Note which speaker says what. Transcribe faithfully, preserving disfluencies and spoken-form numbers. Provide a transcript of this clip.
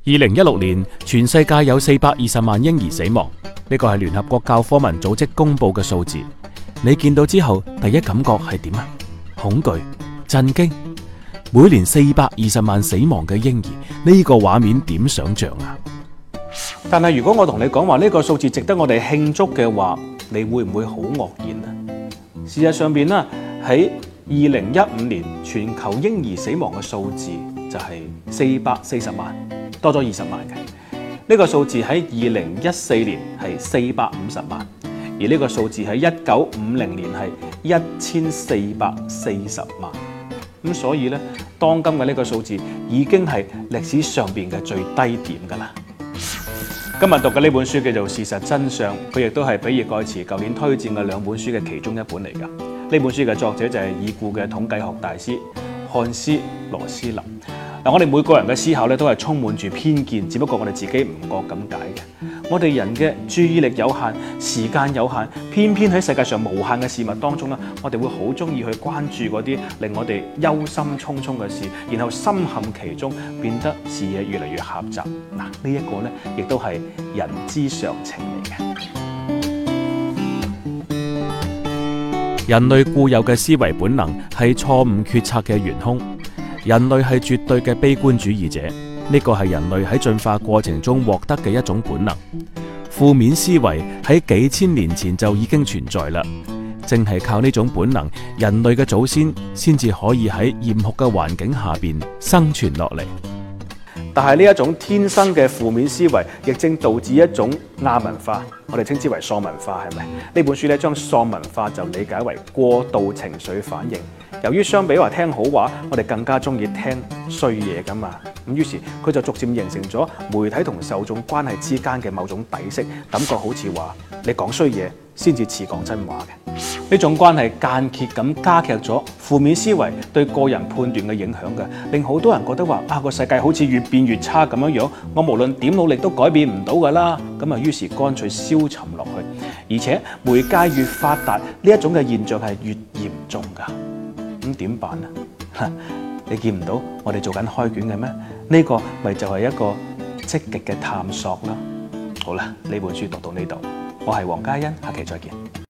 Speaker 1: 二零一六年，全世界有四百二十萬嬰兒死亡，呢個係聯合國教科文組織公布嘅數字。你見到之後，第一感覺係點啊？恐懼、震驚。每年四百二十萬死亡嘅嬰兒，呢個畫面點想象啊？但係如果我同你講話呢個數字值得我哋慶祝嘅話，你會唔會好愕然啊？事實上邊啦，喺二零一五年全球嬰兒死亡嘅數字就係四百四十萬，多咗二十萬嘅。呢個數字喺二零一四年係四百五十萬，而呢個數字喺一九五零年係一千四百四十萬。咁所以咧，當今嘅呢個數字已經係歷史上邊嘅最低點㗎啦。今日讀嘅呢本書叫做《事實真相》，佢亦都係比爾蓋茨舊年推薦嘅兩本書嘅其中一本嚟㗎。呢本書嘅作者就係已故嘅統計學大師漢斯羅斯林。嗱，我哋每個人嘅思考咧都係充滿住偏見，只不過我哋自己唔覺咁解嘅。我哋人嘅注意力有限，時間有限，偏偏喺世界上無限嘅事物當中咧，我哋會好中意去關注嗰啲令我哋憂心忡忡嘅事，然後深陷其中，變得視野越嚟越狹窄。嗱，呢一個咧，亦都係人之常情嚟嘅。人類固有嘅思維本能係錯誤決策嘅元兇。人類係絕對嘅悲觀主義者，呢個係人類喺進化過程中獲得嘅一種本能。負面思維喺幾千年前就已經存在啦，正係靠呢種本能，人類嘅祖先先至可以喺嚴酷嘅環境下邊生存落嚟。但係呢一種天生嘅負面思維，亦正導致一種亞文化，我哋稱之為喪文化，係咪？呢本書咧將喪文化就理解為過度情緒反應。由於相比話聽好話，我哋更加中意聽衰嘢噶嘛，咁於是佢就逐漸形成咗媒體同受眾關係之間嘅某種底色，感覺好似話你講衰嘢先至似講真話嘅。呢種關係間歇咁加劇咗負面思維對個人判斷嘅影響嘅，令好多人覺得話啊個世界好似越變越差咁樣樣，我無論點努力都改變唔到噶啦，咁啊於是乾脆消沉落去，而且媒介越發達，呢一種嘅現象係越嚴重噶。咁點辦啊？你見唔到我哋做緊開卷嘅咩？呢個咪就係一個積極嘅探索啦。好啦，呢本書讀到呢度，我係黃嘉欣，下期再見。